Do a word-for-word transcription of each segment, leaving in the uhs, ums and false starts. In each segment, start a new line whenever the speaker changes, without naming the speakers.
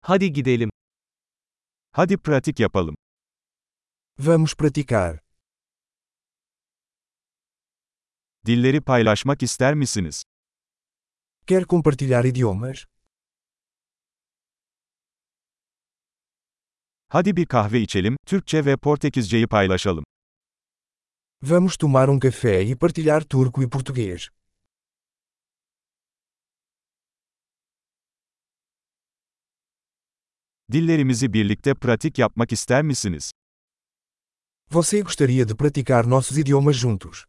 Hadi gidelim.
Hadi pratik yapalım.
Vamos praticar.
Dilleri paylaşmak ister misiniz?
Quer compartilhar idiomas?
Hadi bir kahve içelim, Türkçe ve Portekizceyi paylaşalım.
Vamos tomar um café e partilhar turco e português.
Dillerimizi birlikte pratik yapmak ister misiniz?
Você gostaria de praticar nossos idiomas juntos?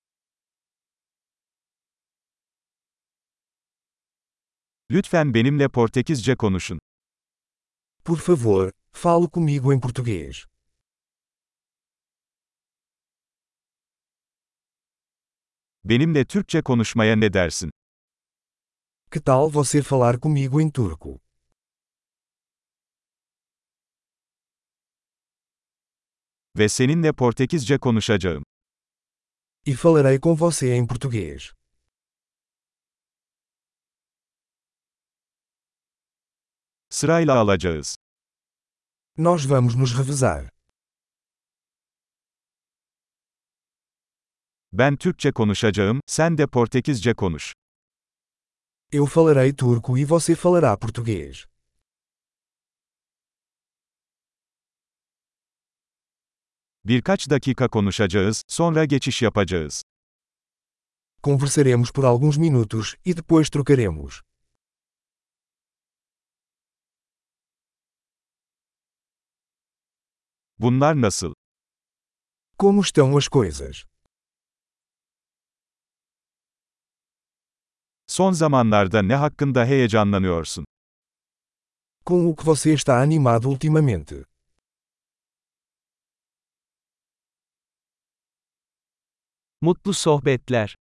Lütfen benimle Portekizce konuşun.
Por favor, fale comigo em português.
Benimle Türkçe konuşmaya ne dersin?
Que tal você falar comigo em turco?
Ve seninle Portekizce konuşacağım.
E falarei com você em português.
Sırayla alacağız.
Nós vamos nos revezar.
Ben Türkçe konuşacağım, sen de Portekizce konuş.
Eu falarei turco e você falará português.
Birkaç dakika konuşacağız, sonra geçiş yapacağız.
Conversaremos por alguns minutos e depois trocaremos.
Bunlar nasıl?
Como estão as coisas?
Son zamanlarda ne hakkında heyecanlanıyorsun?
Com o que você está animado ultimamente?
Mutlu sohbetler.